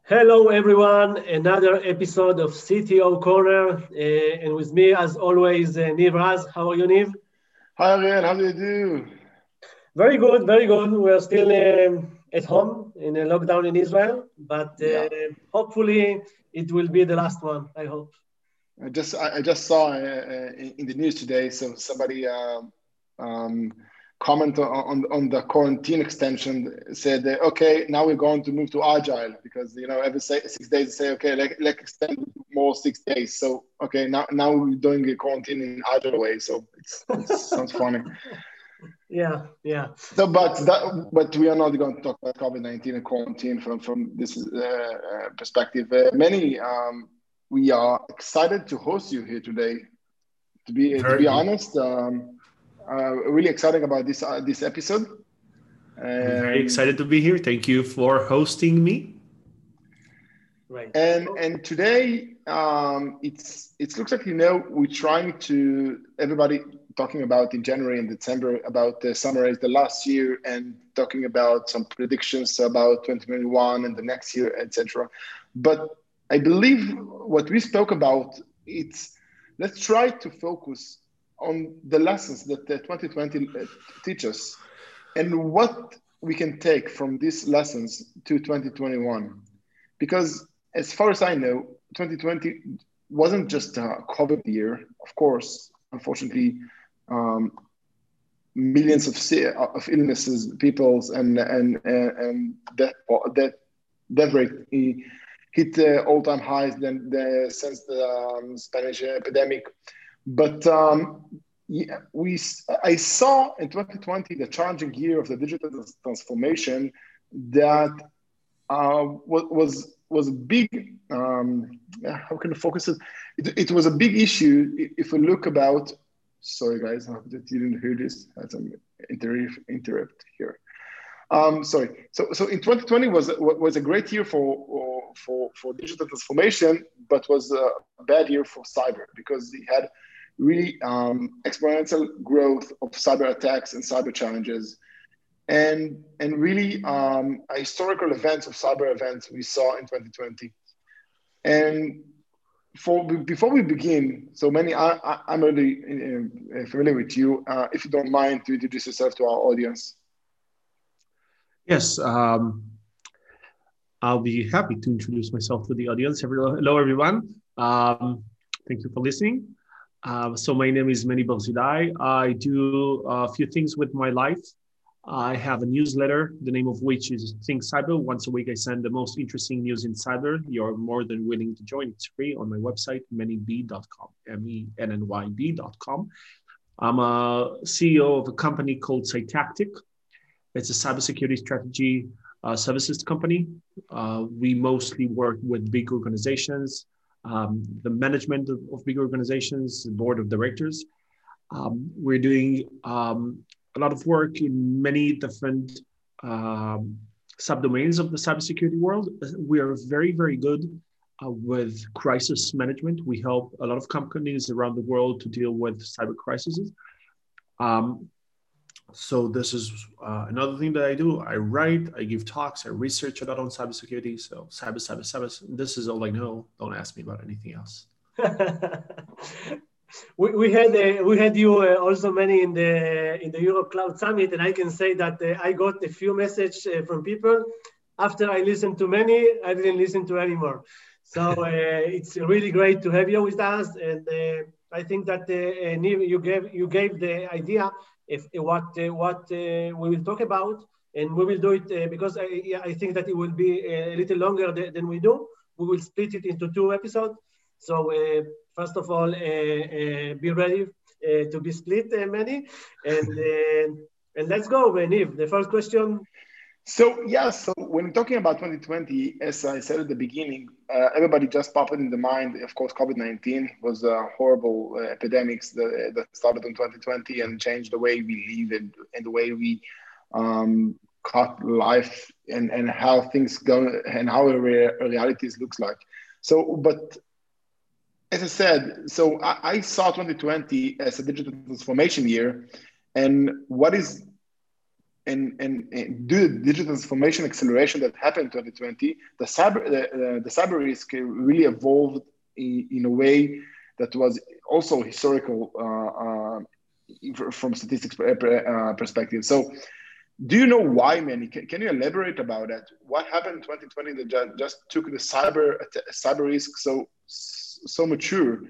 Hello, everyone. Another episode of CTO Corner. And with me, as always, Niv Raz. How are you, Niv? Hi Ariel, how do you do? Very good, very good. We are still at home in a lockdown in Israel, but Yeah, hopefully it will be the last one, I hope. I just saw in the news today. So somebody um, comment on the quarantine extension said, okay, now we're going to move to agile because every 6 days they say okay, let's extend more 6 days. So okay, now we're doing a quarantine in agile way. So it sounds funny. Yeah, yeah. So, but we are not going to talk about COVID-19 and quarantine from this perspective. Many we are excited to host you here today. To be Very, honest, really exciting about this episode. I'm very And excited to be here. Thank you for hosting me. Right. and today it looks like we're trying to everybody talking about in January and December about summarize the last year and talking about some predictions about 2021 and the next year, etc. But I believe what we spoke about, it's let's try to focus on the lessons that 2020 teach us and what we can take from these lessons to 2021. Because as far as I know, 2020 wasn't just a COVID year. Of course, unfortunately, um, millions of illnesses, people's and death rate hit all-time highs since the Spanish epidemic. But yeah, I saw in 2020 the challenging year of the digital transformation that was a big how can I focus it? It was a big issue if we look about. Sorry, guys, I hope that you didn't hear this. I had some interrupt here. Sorry. So in 2020 was a great year for digital transformation, but was a bad year for cyber because it had really exponential growth of cyber attacks and cyber challenges and really historical events of cyber events we saw in 2020. And before we begin, so many I'm already familiar with you. If you don't mind to introduce yourself to our audience. Yes, I'll be happy to introduce myself to the audience. Hello, everyone. Thank you for listening. So my name is Meni Barzilai. I do a few things with my life. I have a newsletter, the name of which is Think Cyber. Once a week, I send the most interesting news in cyber. You're more than willing to join. It's free on my website, mennyb.com, mennyb.com. I'm a CEO of a company called Cytactic. It's a cybersecurity strategy services company. We mostly work with big organizations, the management of big organizations, the board of directors. We're doing a lot of work in many different subdomains of the cybersecurity world. We are very, very good with crisis management. We help a lot of companies around the world to deal with cyber crises. Um, so this is another thing that I do. I write, I give talks, I research a lot on cybersecurity. So cyber. This is all I know. Don't ask me about anything else. We had you also many in the Europe Cloud Summit, and I can say that I got a few messages from people. After I listened to many, I didn't listen to anymore. So it's really great to have you with us, and I think that Niv, you gave the idea of what we will talk about, and we will do it because I think that it will be a little longer than we do. We will split it into two episodes. So first of all, be ready to be split, many, and let's go, Niv. The first question. So yeah, so when talking about 2020, as I said at the beginning, everybody just popped in the mind. Of course, COVID-19 was a horrible epidemics that started in 2020 and changed the way we live and the way we cut life and how things go and how realities looks like. So, but as I said, so I saw 2020 as a digital transformation year, and what is and due to the digital transformation acceleration that happened in 2020, the cyber risk really evolved in a way that was also historical from statistics perspective. So, do you know why, Manny? Can you elaborate about that? What happened in 2020 that just took the cyber risk so mature?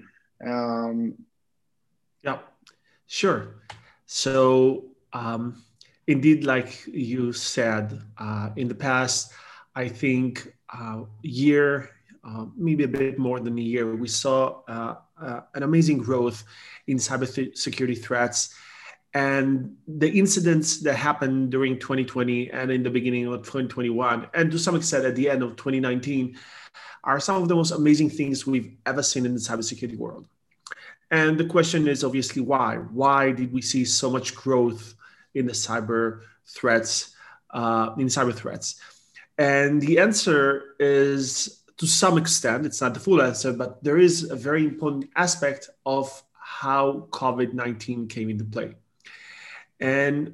Yeah, sure. So indeed, like you said, in the past, I think maybe a bit more than a year, we saw an amazing growth in cybersecurity threats. And the incidents that happened during 2020 and in the beginning of 2021, and to some extent at the end of 2019, are some of the most amazing things we've ever seen in the cybersecurity world. And the question is obviously why? Why did we see so much growth in the cyber threats, And the answer is, to some extent, it's not the full answer, but there is a very important aspect of how COVID-19 came into play. And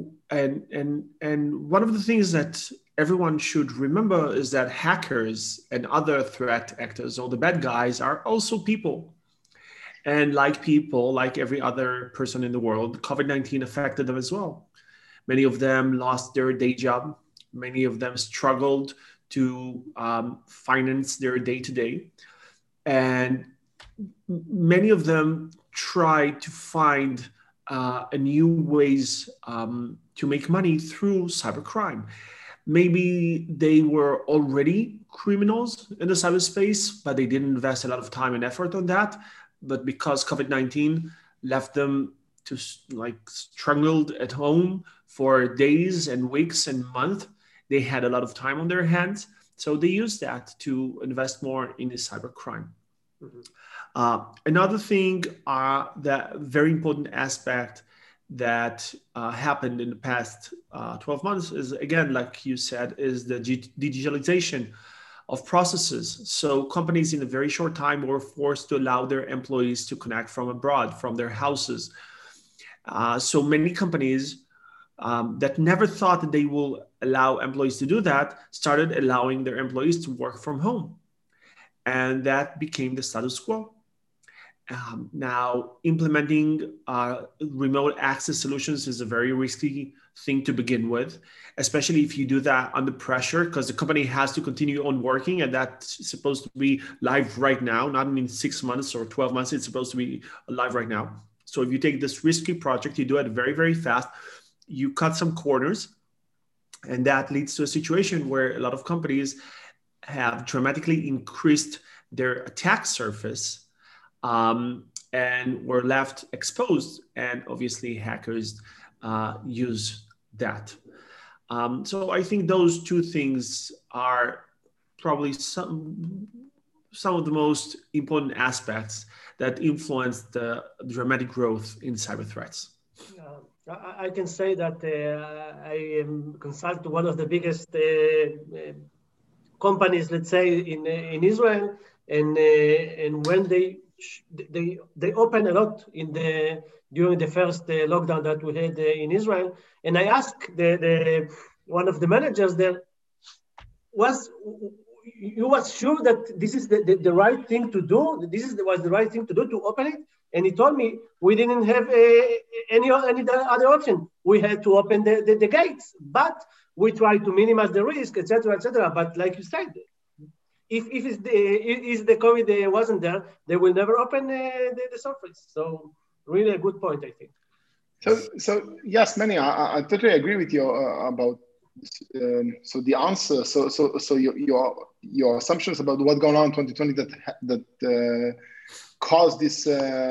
one of the things that everyone should remember is that hackers and other threat actors, or the bad guys, are also people. And like people, like every other person in the world, COVID-19 affected them as well. Many of them lost their day job. Many of them struggled to finance their day-to-day. And many of them tried to find new ways to make money through cybercrime. Maybe they were already criminals in the cyberspace, but they didn't invest a lot of time and effort on that. But because COVID-19 left them to struggled at home for days and weeks and months, they had a lot of time on their hands. So they used that to invest more in the cybercrime. Mm-hmm. Another thing, that very important aspect that happened in the past 12 months is, again, like you said, is the digitalization of processes. So companies in a very short time were forced to allow their employees to connect from abroad, from their houses. So many companies that never thought that they will allow employees to do that started allowing their employees to work from home. And that became the status quo. Now, implementing remote access solutions is a very risky thing to begin with, especially if you do that under pressure, because the company has to continue on working, and that's supposed to be live right now, not in 6 months or 12 months. It's supposed to be live right now. So if you take this risky project, you do it very, very fast, you cut some corners, and that leads to a situation where a lot of companies have dramatically increased their attack surface, and were left exposed, and obviously hackers use that. So I think those two things are probably some of the most important aspects that influence the dramatic growth in cyber threats. I can say that I consult one of the biggest companies, let's say, in Israel, and when they open a lot during the first lockdown that we had in Israel, and I asked the one of the managers there, you was sure that this is the right thing to do? Was the right thing to do to open it? And he told me we didn't have any other option. We had to open the gates, but we tried to minimize the risk, etc., etc. But like you said, if the COVID wasn't there, they will never open the surface. So really a good point, I think. So yes, Manny, I totally agree with you about. So the answer, so your assumptions about what's going on in 2020 that caused this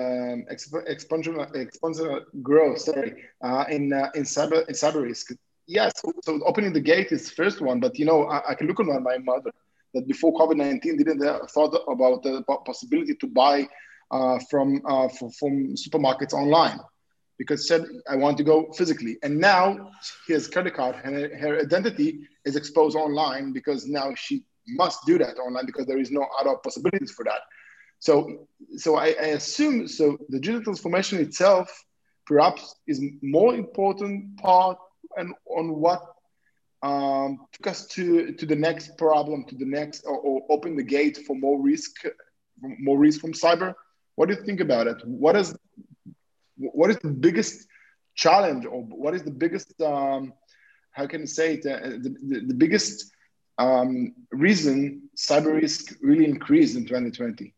exponential growth, in cyber risk. Yes, so opening the gate is the first one, but I can look on my mother that before COVID-19 didn't thought about the possibility to buy from supermarkets online, because said I want to go physically, and now his credit card and her identity is exposed online because now she must do that online because there is no other possibilities for that. So I assume the digital transformation itself perhaps is more important part and on what took us to the next problem, to the next, or open the gate for more risk from cyber. What do you think about it? What is the biggest challenge, or what is the biggest how can I say it, the biggest reason cyber risk really increased in 2020?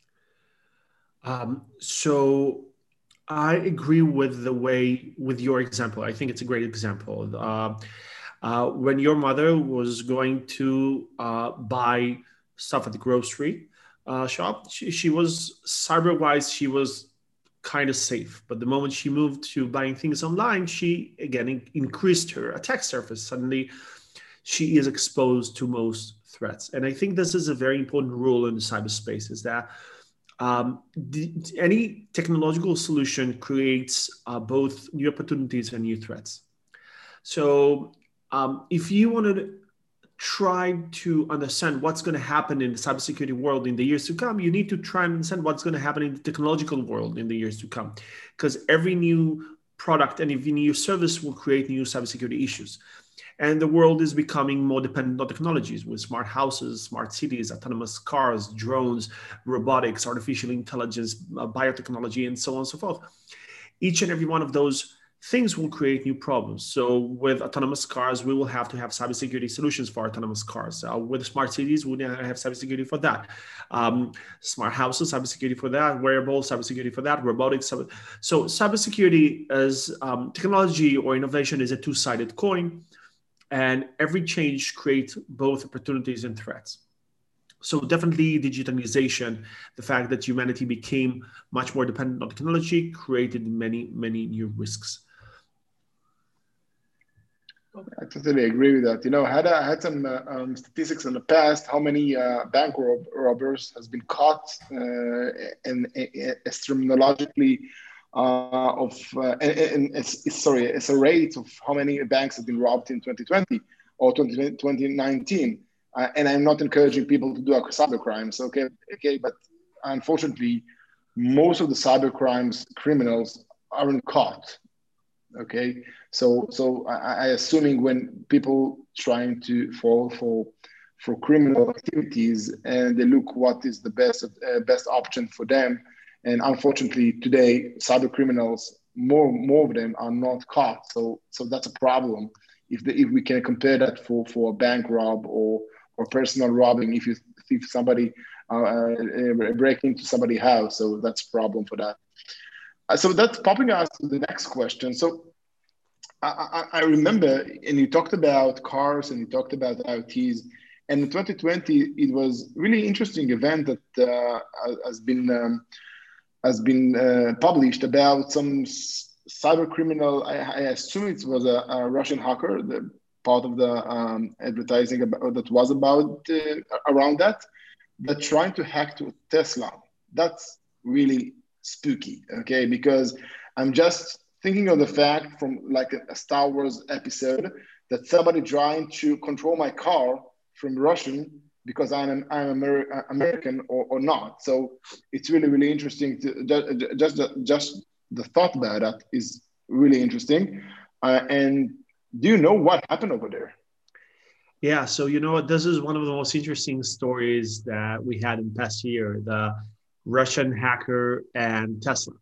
So I agree with with your example. I think it's a great example. When your mother was going to buy stuff at the grocery shop, she was cyber-wise, she was kind of safe. But the moment she moved to buying things online, she again increased her attack surface. Suddenly, she is exposed to most threats. And I think this is a very important rule in the cyberspace, is that any technological solution creates both new opportunities and new threats. So if you want to try to understand what's going to happen in the cybersecurity world in the years to come, you need to try and understand what's going to happen in the technological world in the years to come, because every new product and every new service will create new cybersecurity issues. And the world is becoming more dependent on technologies, with smart houses, smart cities, autonomous cars, drones, robotics, artificial intelligence, biotechnology, and so on and so forth. Each and every one of those things will create new problems. So with autonomous cars, we will have to have cybersecurity solutions for autonomous cars. With smart cities, we now have cybersecurity for that. Smart houses, cybersecurity for that. Wearables, cybersecurity for that. Robotics. So cybersecurity as technology or innovation is a two-sided coin. And every change creates both opportunities and threats. So definitely digitalization, the fact that humanity became much more dependent on technology, created many, many new risks. I totally agree with that. I had some statistics in the past, how many bank robbers has been caught, and astronomically it's a rate of how many banks have been robbed in 2020 or 2019. And I'm not encouraging people to do cyber crimes, okay, but unfortunately, most of the cyber crimes criminals aren't caught. Okay, so I assuming when people trying to fall for criminal activities, and they look what is the best option for them, and unfortunately today cyber criminals, more of them are not caught. So that's a problem. If we can compare that for a bank rob or personal robbing, if somebody break into somebody's house, so that's a problem for that. So that's popping us to the next question. So I remember, and you talked about cars and you talked about IoTs, and in 2020 it was really interesting event that has been published about some cyber criminal. I assume it was a Russian hacker, the part of the advertising that was about around that trying to hack to Tesla. That's really spooky, okay? Because I'm just thinking of the fact from like a Star Wars episode that somebody trying to control my car from Russian because I'm American or not. So it's really, really interesting to just the thought about that is really interesting. And do you know what happened over there? Yeah, so this is one of the most interesting stories that we had in the past year, the Russian hacker and Tesla.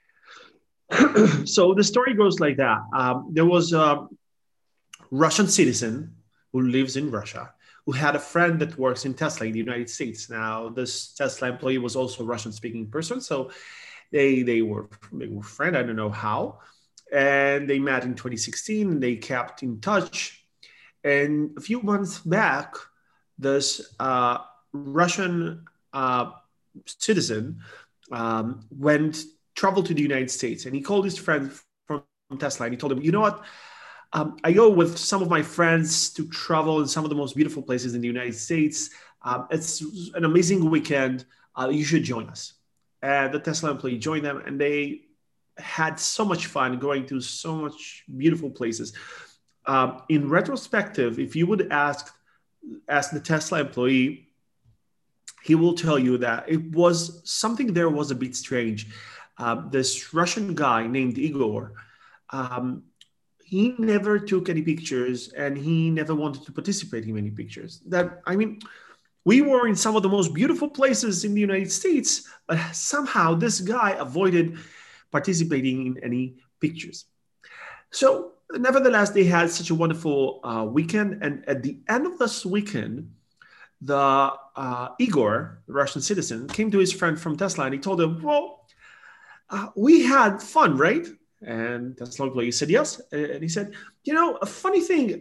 So the story goes like that. There was a Russian citizen who lives in Russia who had a friend that works in Tesla in the United States. Now, this Tesla employee was also a Russian-speaking person, so they were friends. I don't know how. And they met in 2016, and they kept in touch. And a few months back, this Russian citizen traveled to the United States, and he called his friend from Tesla, and he told him, you know what? I go with some of my friends to travel in some of the most beautiful places in the United States. It's an amazing weekend. You should join us. And the Tesla employee joined them, and they had so much fun going to so much beautiful places. In retrospective, if you would ask the Tesla employee, he will tell you that it was something there was a bit strange. This Russian guy named Igor, he never took any pictures and he never wanted to participate in any pictures. We were in some of the most beautiful places in the United States, but somehow this guy avoided participating in any pictures. So nevertheless, they had such a wonderful weekend. And at the end of this weekend, the Igor, the Russian citizen, came to his friend from Tesla and he told him, well, we had fun, right? And Tesla employee said yes. And he said, a funny thing,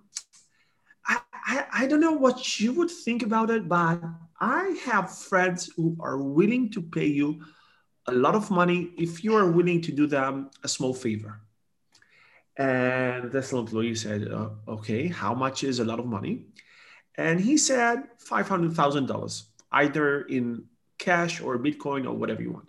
I don't know what you would think about it, but I have friends who are willing to pay you a lot of money if you are willing to do them a small favor. And the Tesla employee said, okay, how much is a lot of money? And he said $500,000, either in cash or Bitcoin or whatever you want.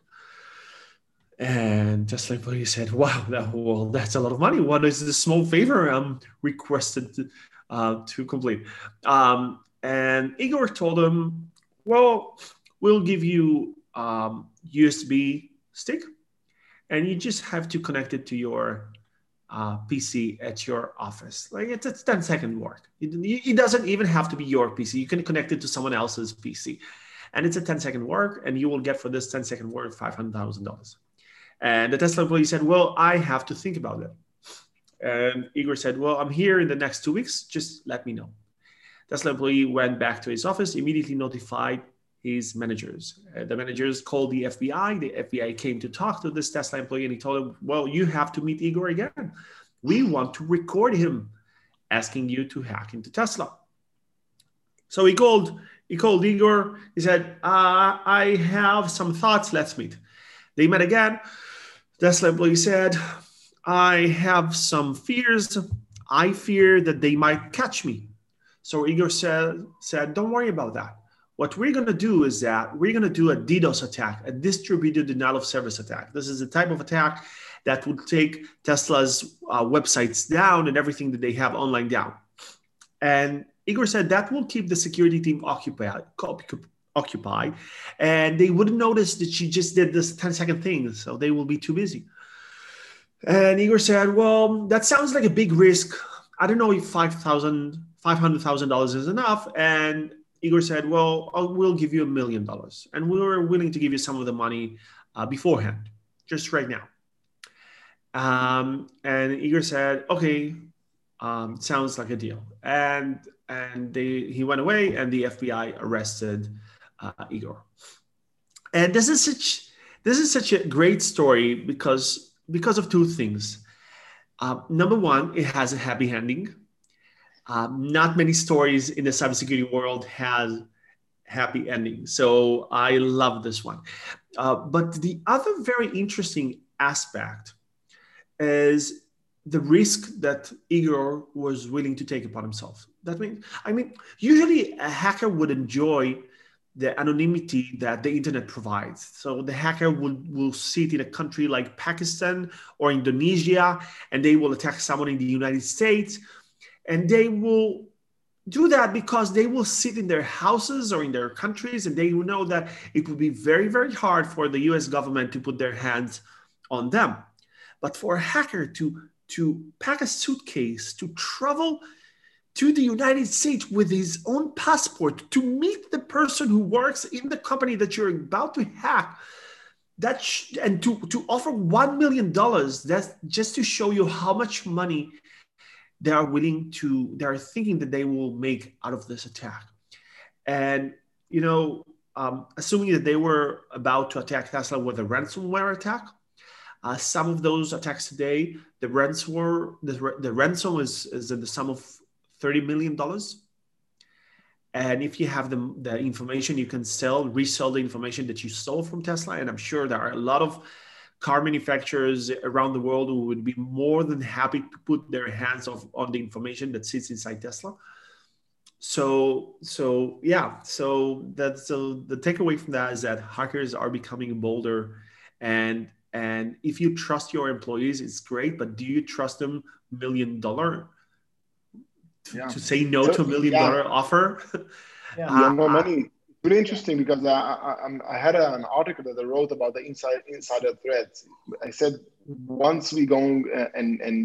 And Tesla employee said, wow, that's a lot of money. What is the small favor I'm requested to complete? And Igor told him, well, we'll give you USB stick, and you just have to connect it to your PC at your office. Like it's 10-second work. It doesn't even have to be your PC. You can connect it to someone else's PC. And it's a 10-second work, and you will get for this 10-second work $500,000. And the Tesla employee said, well, I have to think about it. And Igor said, well, I'm here in the next 2 weeks. Just let me know. Tesla employee went back to his office, immediately notified his managers. The managers called the FBI. The FBI came to talk to this Tesla employee, and he told him, well, you have to meet Igor again. We want to record him asking you to hack into Tesla. So he called Igor. He said, I have some thoughts. Let's meet. They met again. Tesla employee said, I have some fears. I fear that they might catch me. So Igor said, don't worry about that. What we're going to do is that we're going to do a DDoS attack, a distributed denial of service attack. This is a type of attack that would take Tesla's websites down and everything that they have online down. And Igor said that will keep the security team occupied, and they wouldn't notice that she just did this 10-second thing, so they will be too busy. And Igor said, well, that sounds like a big risk. I don't know if $500,000 is enough. And Igor said, well, we'll give you $1 million. And we were willing to give you some of the money beforehand, just right now. And Igor said, okay, sounds like a deal. And he went away, and the FBI arrested Igor. And this is such a great story because of two things. Number one, it has a happy ending. Not many stories in the cybersecurity world has happy endings. So I love this one. But the other very interesting aspect is the risk that Igor was willing to take upon himself. Usually a hacker would enjoy the anonymity that the internet provides. So the hacker will sit in a country like Pakistan or Indonesia, and they will attack someone in the United States. And they will do that because they will sit in their houses or in their countries, and they will know that it would be very, very hard for the US government to put their hands on them. But for a hacker to pack a suitcase, to travel to the United States with his own passport, to meet the person who works in the company that you're about to hack, and to offer $1 million, that's just to show you how much money they are thinking that they will make out of this attack. And, assuming that they were about to attack Tesla with a ransomware attack, some of those attacks today, the ransom is in the sum of $30 million. And if you have the information, you can resell the information that you stole from Tesla. And I'm sure there are a lot of car manufacturers around the world who would be more than happy to put their hands on the information that sits inside Tesla. So the takeaway from that is that hackers are becoming bolder, and if you trust your employees, it's great, but do you trust them $1 million to say no to $1 million offer? No money. Really interesting, because I had an article that I wrote about the insider threats. I said once we go and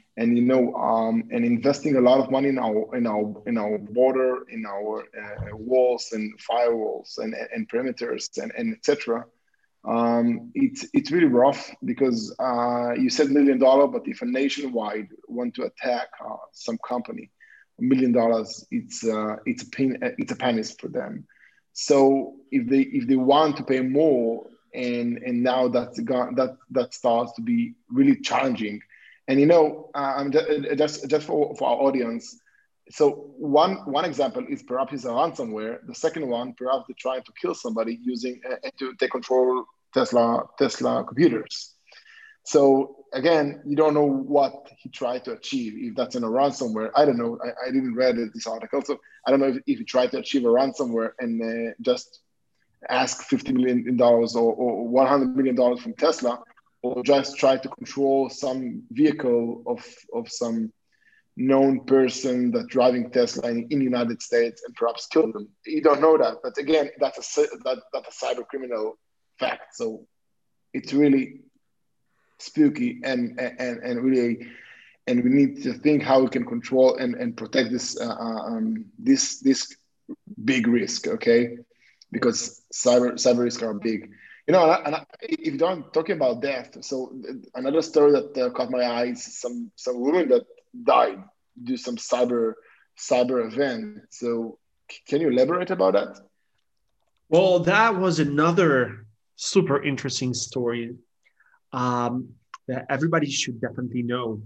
and and investing a lot of money in our border, in our walls and firewalls and perimeters and etc. It's really rough because you said $1 million, but if a nationwide want to attack some company, $1 million, it's a pennies for them. So if they want to pay more, and now that starts to be really challenging. And I'm just for our audience. So one example is perhaps it's a ransomware. The second one, perhaps they're trying to kill somebody using to take control Tesla computers. So again, you don't know what he tried to achieve. If that's in a ransomware, I don't know. I didn't read this article, so I don't know if he tried to achieve a ransomware and just ask $50 million or $100 million from Tesla, or just try to control some vehicle of some known person that's driving Tesla in the United States and perhaps kill them. You don't know that, but again, that's a cyber criminal fact. So it's really spooky and really, and we need to think how we can control and protect this big risk, okay? Because cyber risks are big. If you don't talking about death, so another story that caught my eye is some women that died due to some cyber event. So can you elaborate about that? Well, that was another super interesting story that everybody should definitely know.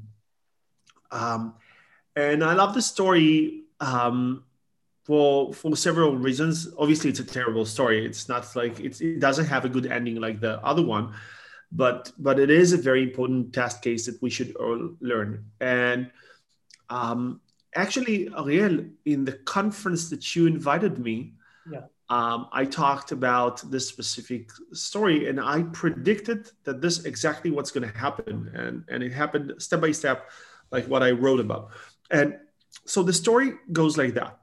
And I love the story for several reasons. Obviously, it's a terrible story. It's not like it doesn't have a good ending like the other one, but it is a very important test case that we should all learn. And actually, Ariel, in the conference that you invited me, I talked about this specific story, and I predicted that this exactly what's going to happen, and it happened step by step, like what I wrote about. And so the story goes like that.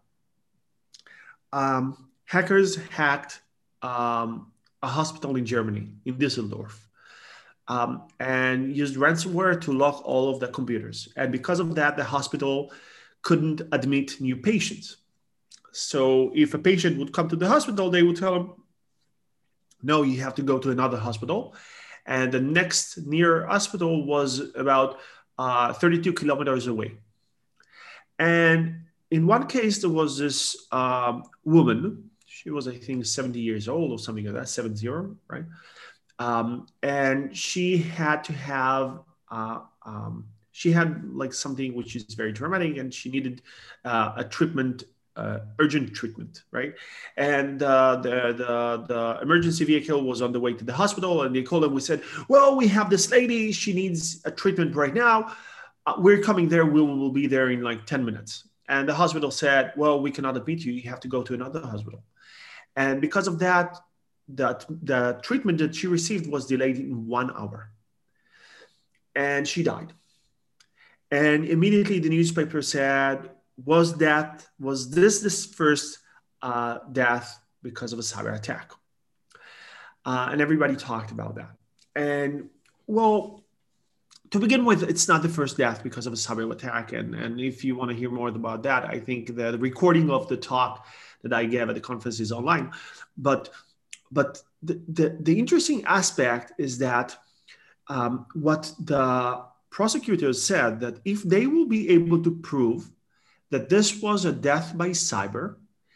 Hackers hacked a hospital in Germany, in Düsseldorf, and used ransomware to lock all of the computers. And because of that, the hospital couldn't admit new patients. So if a patient would come to the hospital, they would tell them, no, you have to go to another hospital. And the next near hospital was about 32 kilometers away. And in one case, there was this woman. She was, I think, 70 years old or something like that, 70, right? And she had to have, she had like something which is very dramatic, and she needed a treatment, urgent treatment, right? And the emergency vehicle was on the way to the hospital, and they called them. We said, well, we have this lady. She needs a treatment right now. We're coming there. We will be there in like 10 minutes. And the hospital said, well, we cannot admit you. You have to go to another hospital. And because of that, the treatment that she received was delayed in 1 hour. And she died. And immediately the newspaper said, was this first death because of a cyber attack? And everybody talked about that. And well, to begin with, it's not the first death because of a cyber attack. And if you want to hear more about that, I think the recording of the talk that I gave at the conference is online. But the interesting aspect is that what the prosecutors said, that if they will be able to prove that this was a death by cyber,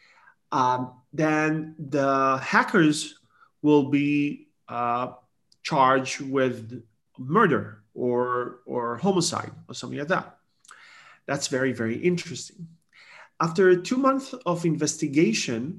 then the hackers will be charged with murder or homicide or something like that. That's very, very interesting. After 2 months of investigation,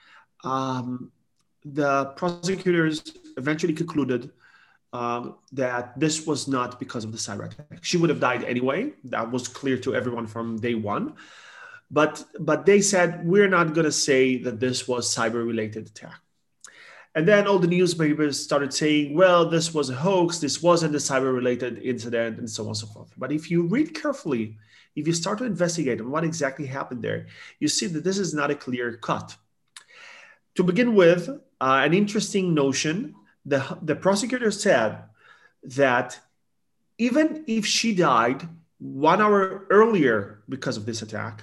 the prosecutors eventually concluded that this was not because of the cyber attack. She would have died anyway. That was clear to everyone from day one. But they said, we're not going to say that this was cyber-related attack. And then all the newspapers started saying, well, this was a hoax, this wasn't a cyber-related incident, and so on and so forth. But if you read carefully, if you start to investigate on what exactly happened there, you see that this is not a clear cut. To begin with, an interesting notion, the prosecutor said that even if she died 1 hour earlier because of this attack.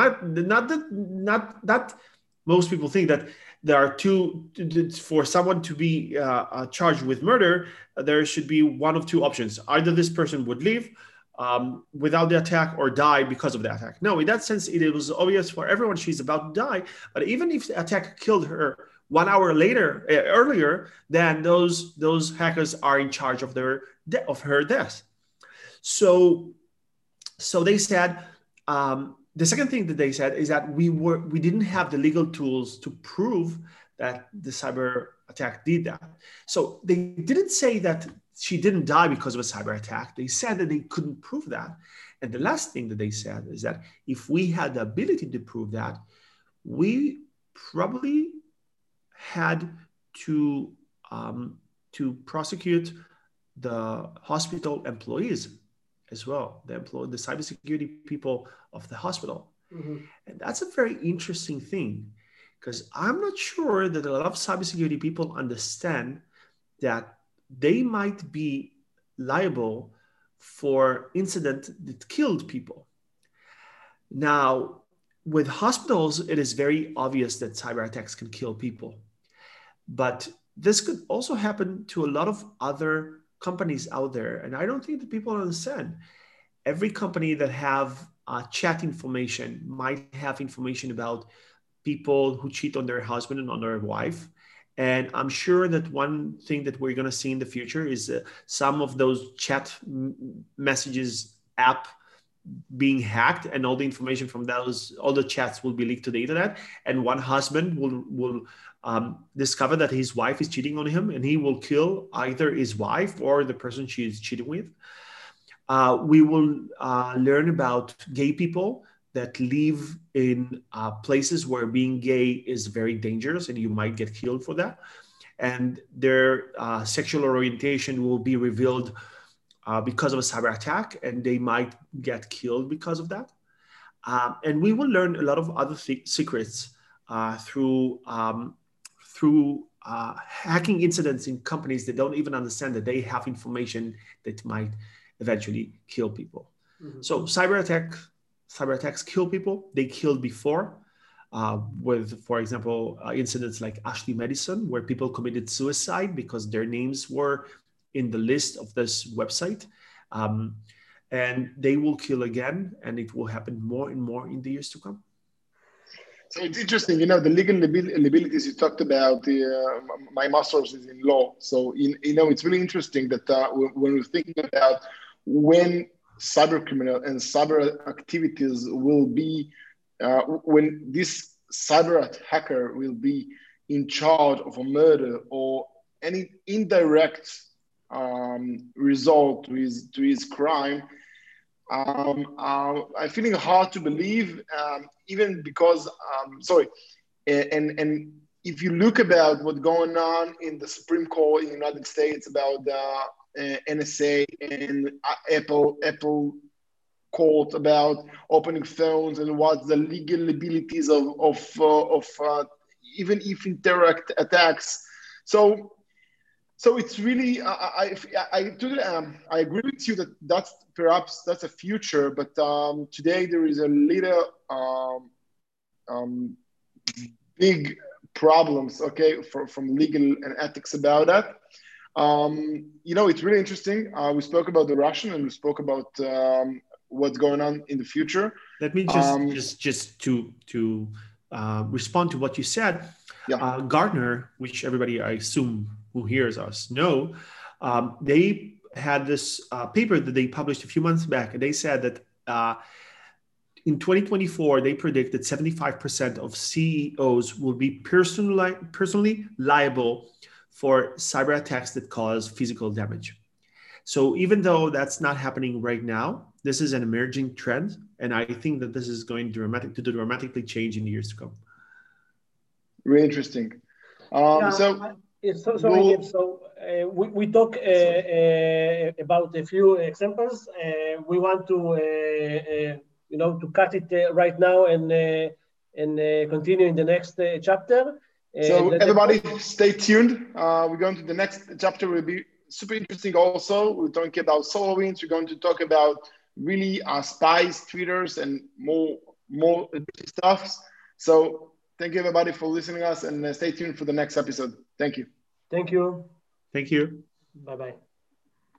Not most people think that there are for someone to be charged with murder, there should be one of two options. Either this person would leave without the attack or die because of the attack. No, in that sense, it was obvious for everyone she's about to die. But even if the attack killed her 1 hour earlier, then those hackers are in charge of her death. So they said, the second thing that they said is that we didn't have the legal tools to prove that the cyber attack did that. So they didn't say that she didn't die because of a cyber attack. They said that they couldn't prove that. And the last thing that they said is that if we had the ability to prove that, we probably had to prosecute the hospital employees as well, the cybersecurity people of the hospital. Mm-hmm. And that's a very interesting thing, because I'm not sure that a lot of cybersecurity people understand that they might be liable for incident that killed people. Now, with hospitals, it is very obvious that cyber attacks can kill people. But this could also happen to a lot of other companies out there. And I don't think that people understand. Every company that have chat information might have information about people who cheat on their husband and on their wife. And I'm sure that one thing that we're going to see in the future is some of those chat messages app being hacked, and all the information from all the chats will be leaked to the internet. And one husband will discover that his wife is cheating on him, and he will kill either his wife or the person she is cheating with. We will learn about gay people that live in places where being gay is very dangerous and you might get killed for that. And their sexual orientation will be revealed because of a cyber attack, and they might get killed because of that. And we will learn a lot of other secrets through hacking incidents in companies that don't even understand that they have information that might eventually kill people. Mm-hmm. So cyber attacks kill people. They killed before with, for example, incidents like Ashley Madison, where people committed suicide because their names were in the list of this website. And they will kill again, and it will happen more and more in the years to come. So it's interesting, the legal liabilities you talked about. My master's is in law, so it's really interesting that when we're thinking about when cyber criminal and cyber activities will be, when this cyber hacker will be in charge of a murder or any indirect result to his crime, I'm feeling hard to believe, even because, and if you look about what's going on in the Supreme Court in the United States about the NSA and Apple court about opening phones and what the legal liabilities of even if indirect attacks. So it's really, I agree with you that that's a future, but today there is a little big problems, from legal and ethics about that. It's really interesting. We spoke about the Russian, and we spoke about what's going on in the future. Let me just to respond to what you said. Yeah. Gartner, which everybody, I assume, who hears us know, they had this paper that they published a few months back, and they said that in 2024, they predict that 75% of CEOs will be personally liable for cyber attacks that cause physical damage. So even though that's not happening right now, this is an emerging trend, and I think that this is going to dramatically change in the years to come. Really interesting. We talk about a few examples. We want to to cut it right now and continue in the next chapter. So everybody, stay tuned. We're going to the next chapter. Will be super interesting. Also, we're talking about SolarWinds. We're going to talk about really spies, tweeters, and more stuff. So thank you everybody for listening to us, and stay tuned for the next episode. Thank you. Thank you. Thank you. Bye-bye.